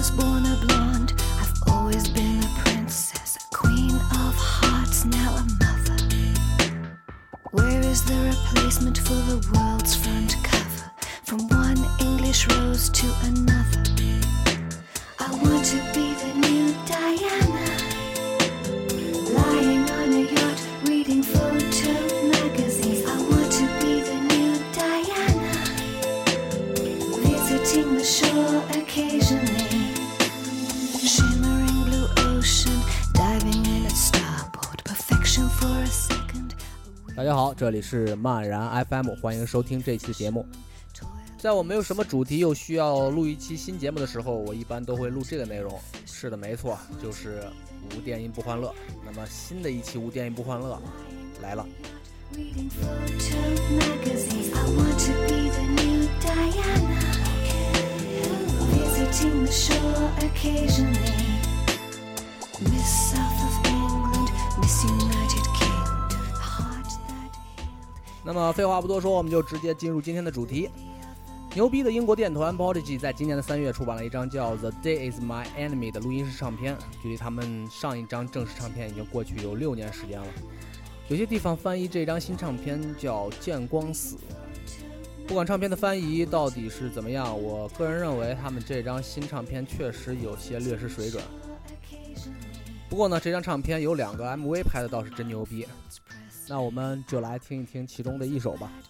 was born a blonde. I've always been a princess, a queen of hearts, now a mother. Where is the replacement for the world's front cover? From one English rose to another. I want to be the new Diana, lying on a yacht, reading photo magazines. I want to be the new Diana, visiting the shore occasionally. Shimmering blue ocean, diving in at starboard, perfection for a second. 大家好，这里是漫然 FM， 欢迎收听这期节目。在我没有什么主题又需要录一期新节目的时候，我一般都会录这个内容。是的，没错，就是无电音不欢乐。那么新的一期无电音不欢乐来了。 Reading photo magazines, I want to be the new Diana, visiting the shore occasionally. Miss South of England, Miss United Kingdom, the heart that healed. 那么废话不多说，我们就直接进入今天的主题。牛逼的英国电团 Prodigy 在今年的3月出版了一张叫 The Day Is My Enemy 的录音室唱片，距离他们上一张正式唱片已经过去有6年时间了。有些地方翻译这张新唱片叫见光死。不管唱片的翻译到底是怎么样，我个人认为他们这张新唱片确实有些略失水准。不过呢，这张唱片有2个 MV 拍的倒是真牛逼。那我们就来听一听其中的一首吧。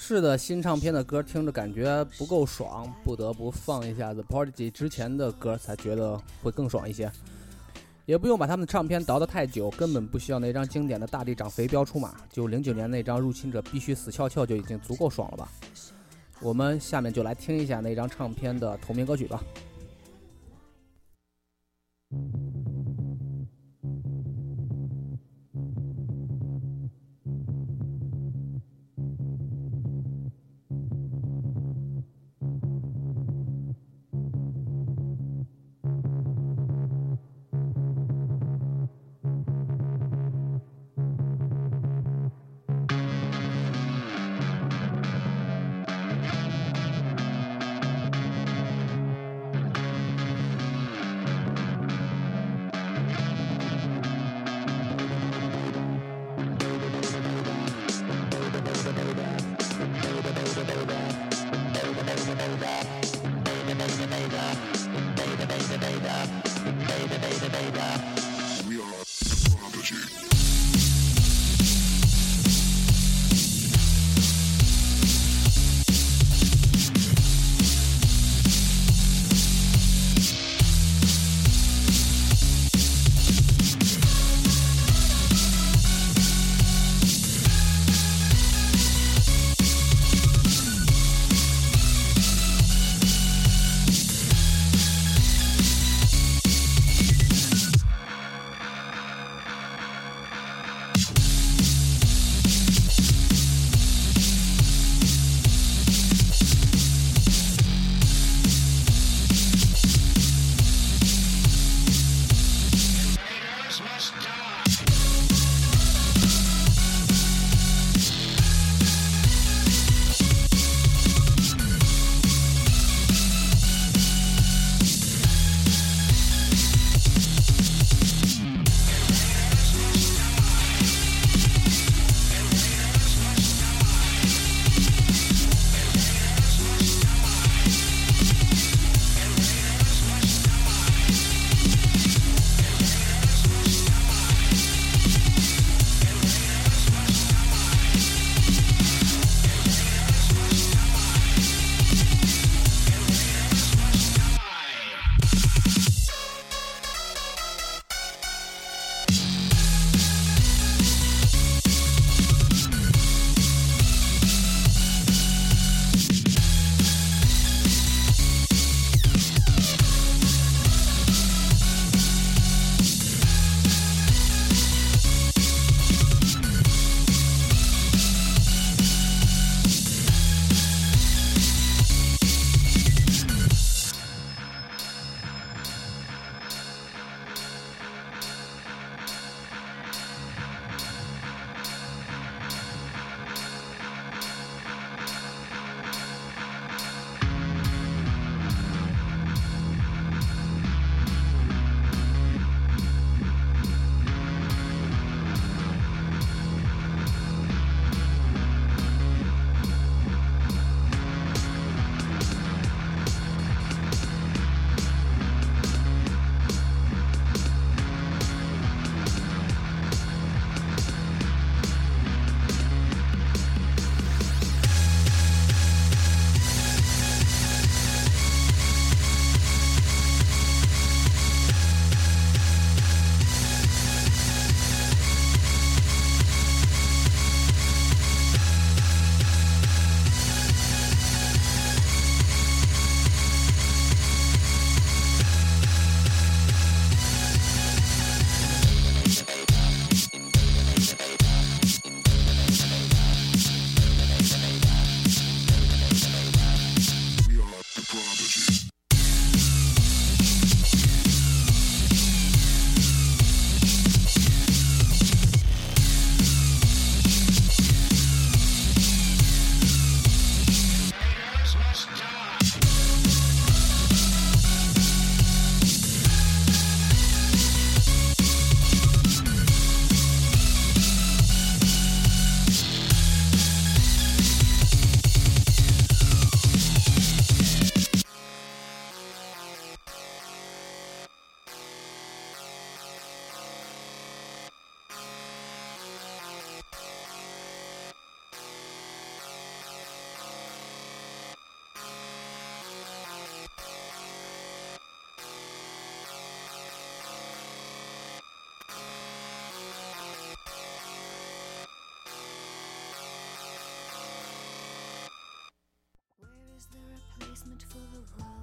是的，新唱片的歌听着感觉不够爽，不得不放一下 The Prodigy 之前的歌，才觉得会更爽一些。也不用把他们的唱片倒得太久，根本不需要那张经典的大地长肥膘出马，就09年那张入侵者必须死翘翘就已经足够爽了吧。我们下面就来听一下那张唱片的同名歌曲吧。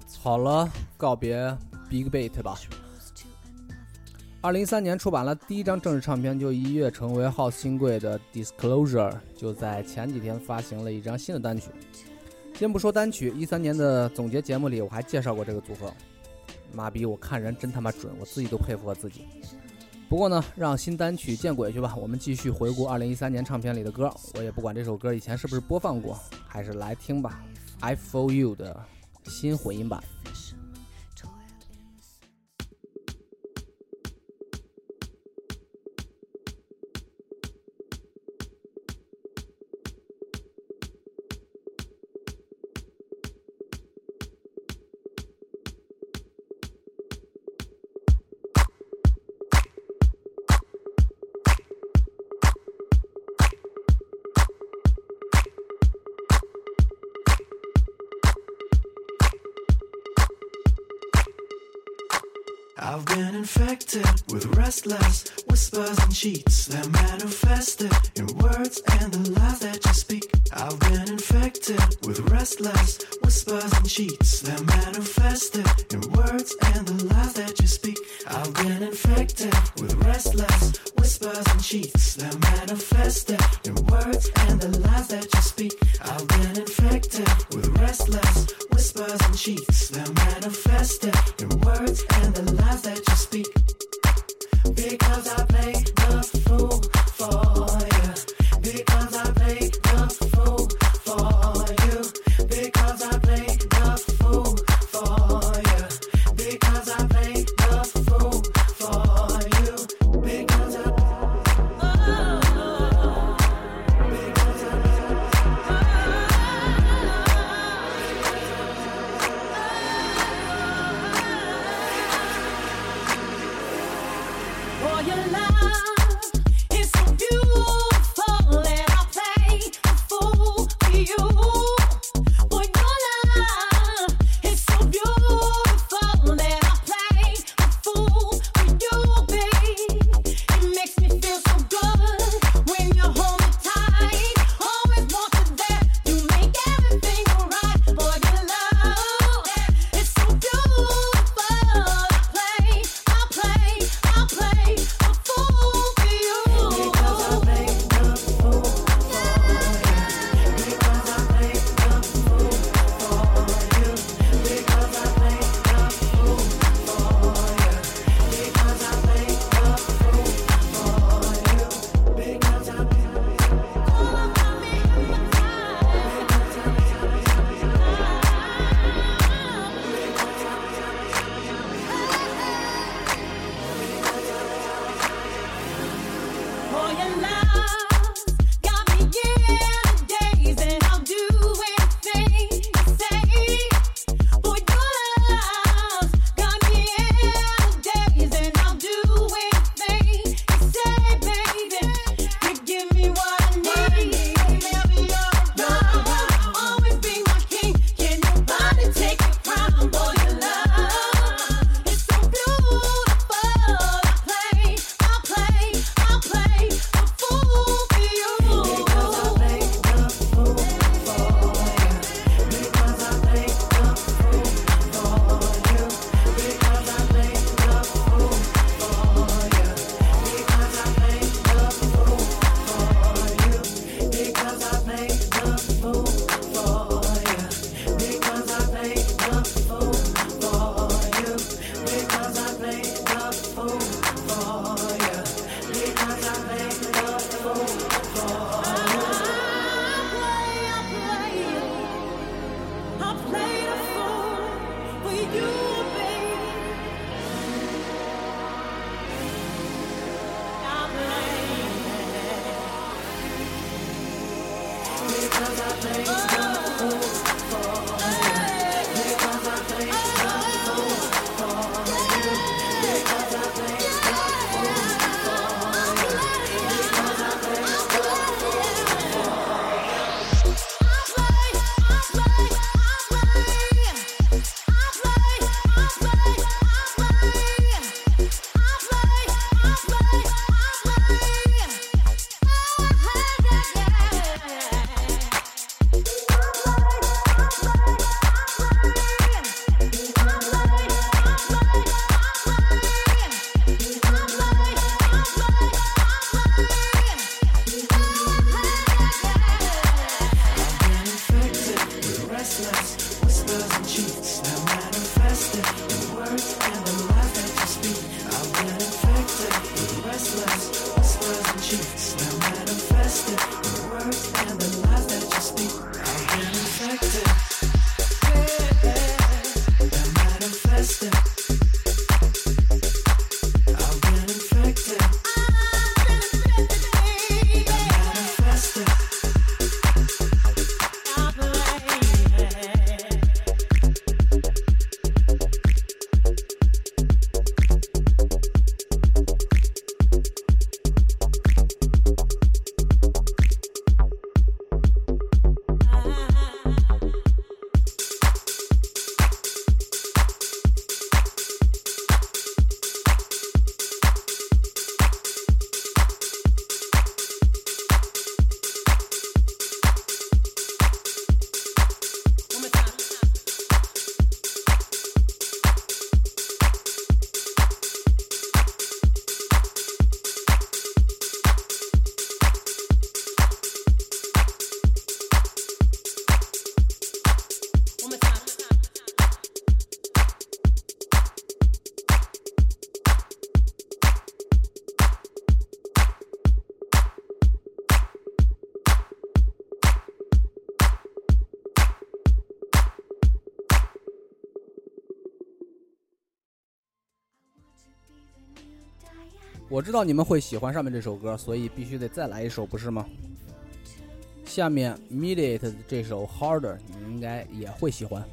好了，告别 Big Beat 吧。2013年出版了第一张正式唱片，就一跃成为 House 新贵的 Disclosure， 就在前几天发行了一张新的单曲。先不说单曲，13年的总结节目里我还介绍过这个组合。妈逼，我看人真他妈准，我自己都佩服我自己。不过呢，让新单曲见鬼去吧，我们继续回顾2013年唱片里的歌。我也不管这首歌以前是不是播放过，还是来听吧。I For You 的新混音版。 I've been infected with restless whispers and cheats that manifested in words and the lies that you speak. I've been infected with restless whispers and cheats that manifested in words and the lies that you speak. I've been infected with restless whispers and cheats that manifested in words and the lies that you speak. I've been infected with restless whispers and cheats that manifested in words and the lies that you speak. Because I play the fool for you. Because I play the fool for you. Because I play the fool for you. Because I play the fool for you. Because I For your love is so beautiful that I'll play the fool for you. For your love is so beautiful that I'll play the fool for you, babe. It makes me feel so good when you hold me tight. Always want you there to make everything alright. For your love is so beautiful. I'll play a fool for you. Because I play the fool for you. Because I play the fool for you. Because I play the fool for you. Because I play the fool for you. Because I play all about me in my time. For your love got me in the days, and I'll do anything you say. For your love got me in the days, and I'll do anything you say, baby. You give me what I need. Baby, you're around. Always be my king. Can nobody take your crown? For your love is so beautiful. I'll play a fool for you. Because I play the fool for you. Because I play the fool for you. Because I play the fool for you. Because I play the fool for you. Because I play the fool for you. Because I play the fool for you. Because I play the fool for you. Because I play the fool for you. I'll play the fool for you, baby. I'll play. Because I play the fool for you. Because I play the fool for you. Because I play the fool for you. Because I play the fool words and the lies that you speak. I've been infected. And manifested. I've been infected. And manifested. 我知道你们会喜欢上面这首歌，所以必须得再来一首，不是吗？下面 Mediate 的这首 Harder 你们应该也会喜欢。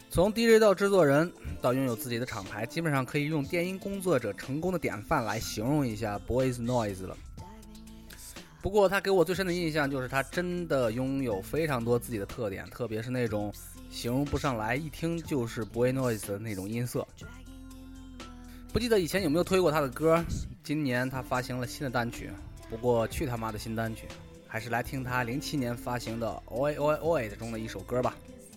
从 DJ 到制作人到拥有自己的厂牌，基本上可以用电音工作者成功的典范来形容一下 Boys Noise 了。不过他给我最深的印象就是他真的拥有非常多自己的特点，特别是那种形容不上来，一听就是 Boys Noise 的那种音色。不记得以前有没有推过他的歌，今年他发行了新的单曲，不过去他妈的新单曲，还是来听他07年发行的 Oi Oi Oi 中的一首歌吧。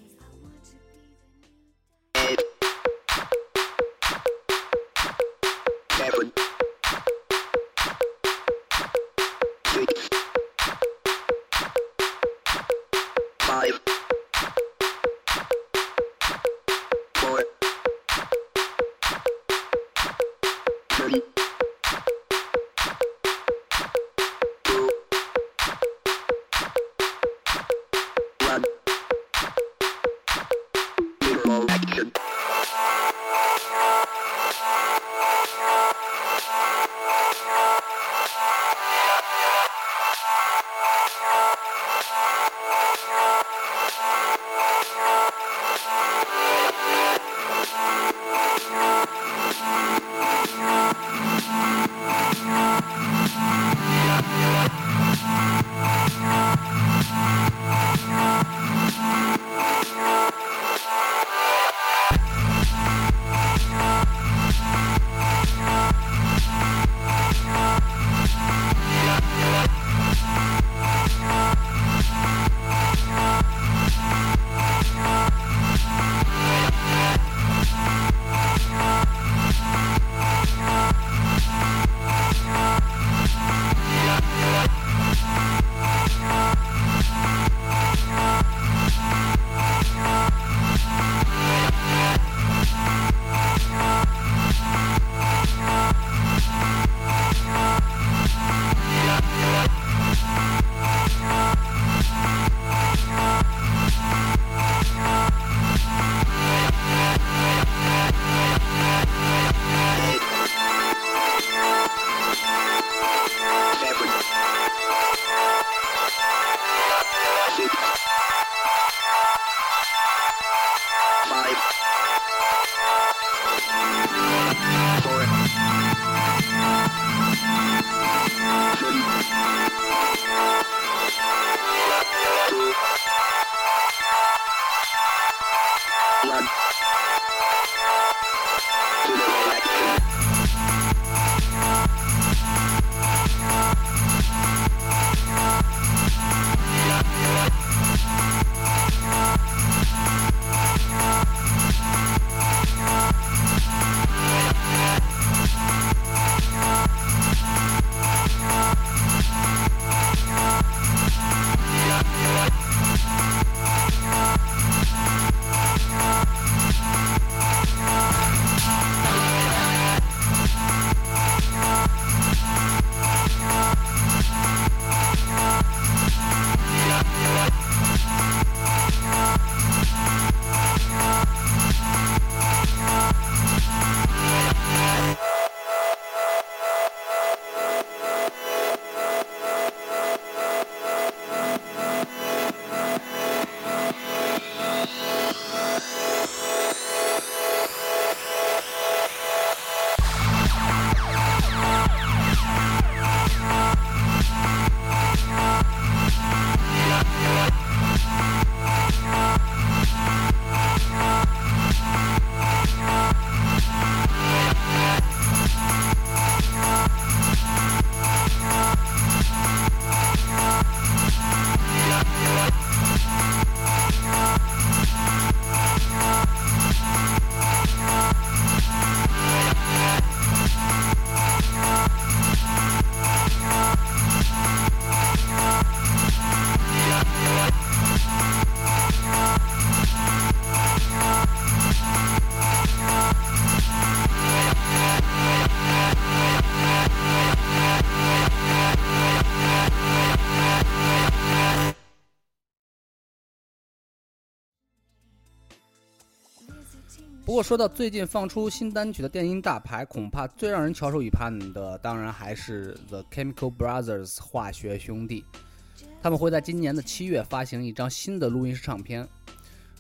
不过说到最近放出新单曲的电音大牌，恐怕最让人翘首以盼的当然还是 The Chemical Brothers 化学兄弟。他们会在今年的7月发行一张新的录音室唱片，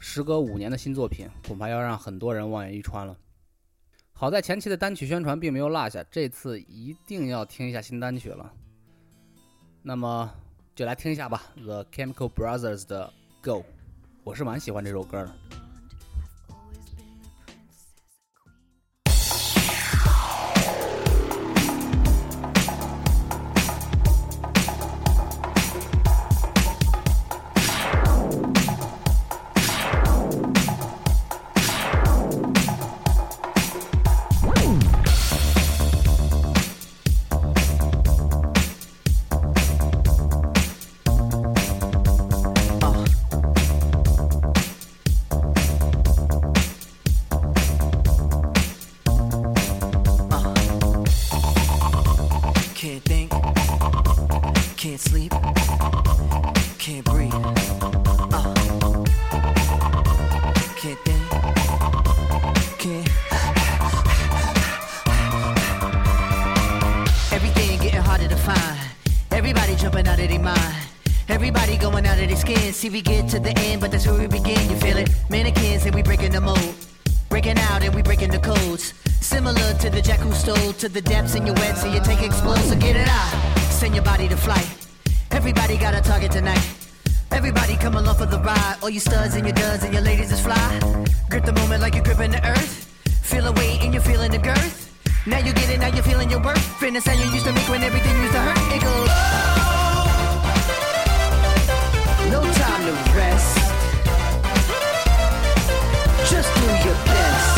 时隔5年的新作品，恐怕要让很多人望眼欲穿了。好在前期的单曲宣传并没有落下，这次一定要听一下新单曲了。那么就来听一下吧 ，The Chemical Brothers 的 Go， 我是蛮喜欢这首歌的。 Can't think, can't sleep, can't breathe. Can't think, can't. Everything getting harder to find. Everybody jumping out of their mind. Everybody going out of their skin. See, we get to the end, but that's where we begin. You feel it? Mannequins and we breaking the mold. Breaking out and we breaking the codes. Similar to the jack who stole to the depths in your wet, so you take explode, so get it out. Send your body to flight. Everybody got a target tonight. Everybody come along for the ride. All you studs and your duds and your ladies is fly. Grip the moment like you're gripping the earth. Feel a weight and you're feeling the girth. Now you get it, now you're feeling your worth. Fitness how you used to make when everything used to hurt. It goes. No time to rest. Just do your best.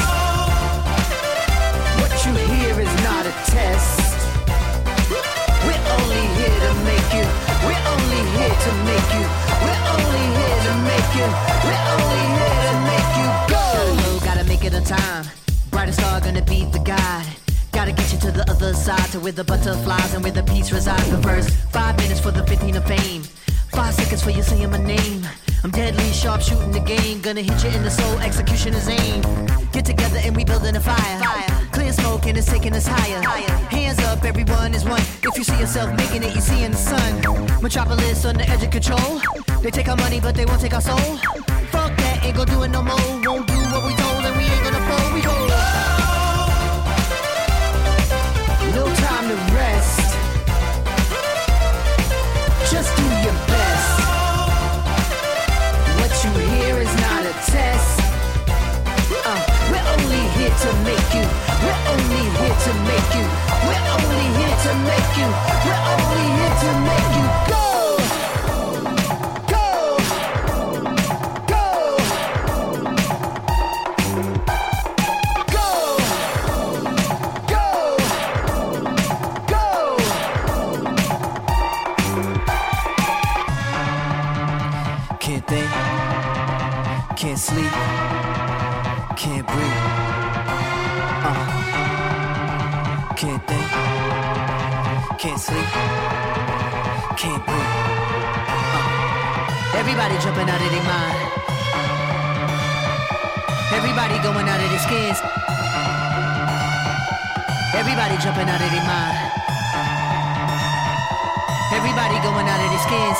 What you hear is not a test. We're only here to make you. We're only here to make you. We're only here to make you. We're only here to make you go. Gotta make it on time. Brightest star gonna be the guide. Gotta get you to the other side, to where the butterflies and where the peace resides. The first 5 minutes for the 15 of fame. 5 seconds for you saying my name. I'm deadly sharp shooting the game. Gonna hit you in the soul, execution is aim. Get together and we building a fire. Clear smoke and it's taking us higher. Hands up, everyone is one. If you see yourself making it, you see in the sun. Metropolis on the edge of control. They take our money, but they won't take our soul. Fuck that, ain't gonna do it no more. Won't do what we told and we ain't gonna fold. We go. No time to rest. Just do your best. What you hear is not a test. We're only here to make you. We're only here to make you. We're only here to make you. We're only here to make you go. Go. Go. Go. Go. Go. Can't think, can't sleep, can't breathe. Can't think, can't sleep, can't breathe. Everybody jumping out of their mind. Everybody going out of their skins. Everybody jumping out of their mind. Everybody going out of their skins.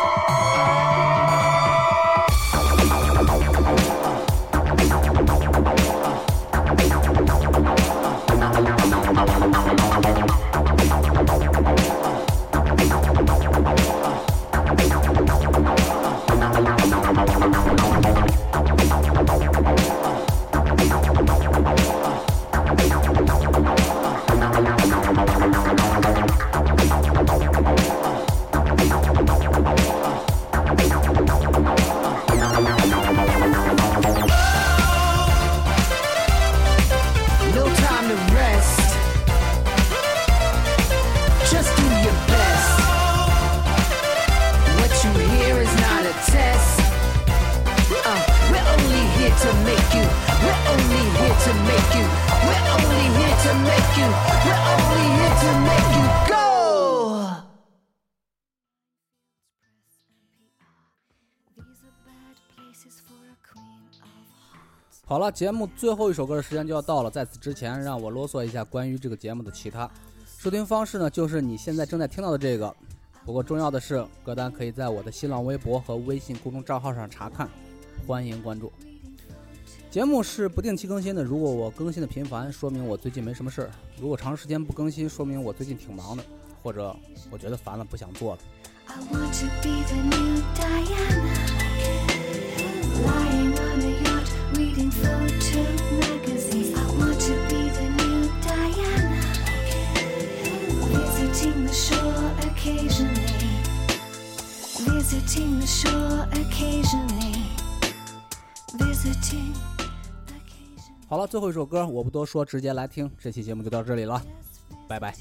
No time to rest. Just do your best. What you hear is not a test. We're only here to make you. We're only here to make you. We're only here to make you. We're only here to make you go. 好了，节目最后一首歌的时间就要到了，在此之前让我啰嗦一下关于这个节目的其他收听方式呢，就是你现在正在听到的这个。不过重要的是，歌单可以在我的新浪微博和微信公众账号上查看，欢迎关注。 节目是不定期更新的，如果我更新的频繁，说明我最近没什么事儿；如果长时间不更新，说明我最近挺忙的，或者我觉得烦了，不想做了。 I want to be the new Diana, lying on a yacht, reading photo magazines. I want to be the new Diana, visiting the shore occasionally, visiting the shore occasionally, visiting. 好了，最后一首歌我不多说，直接来听。这期节目就到这里了，拜拜。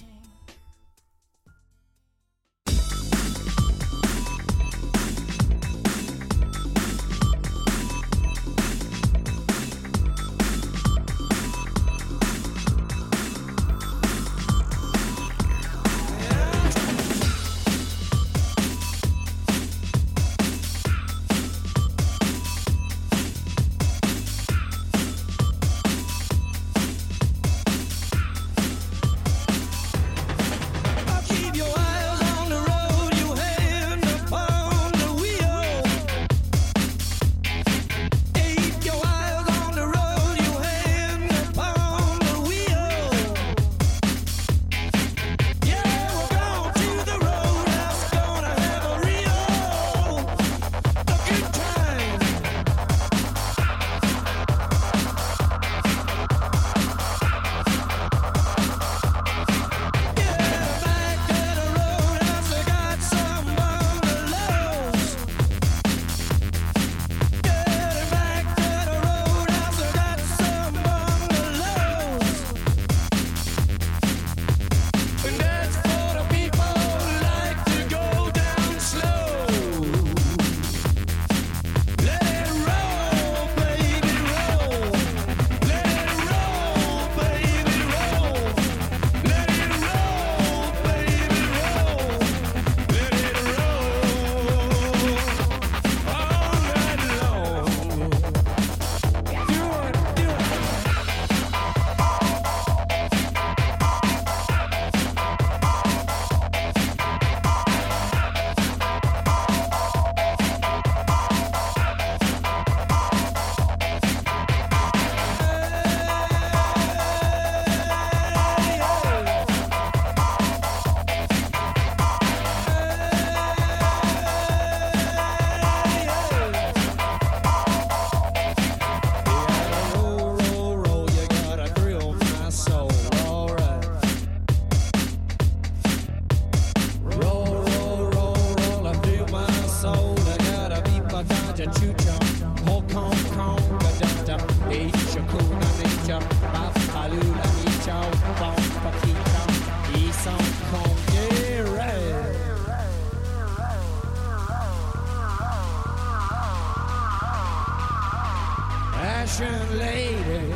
Ashen lady,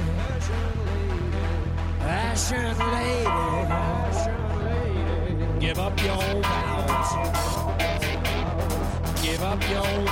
ashen lady, give up your vows, give up your